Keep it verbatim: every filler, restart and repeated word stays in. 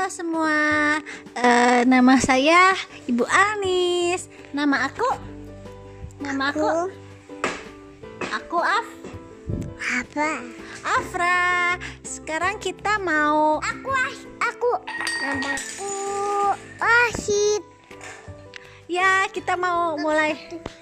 semua, uh, nama saya Ibu Anis. Nama aku, nama aku, aku Af, apa? Afra. Sekarang kita mau, Aku, aku, namaku Wahid. ya kita mau mulai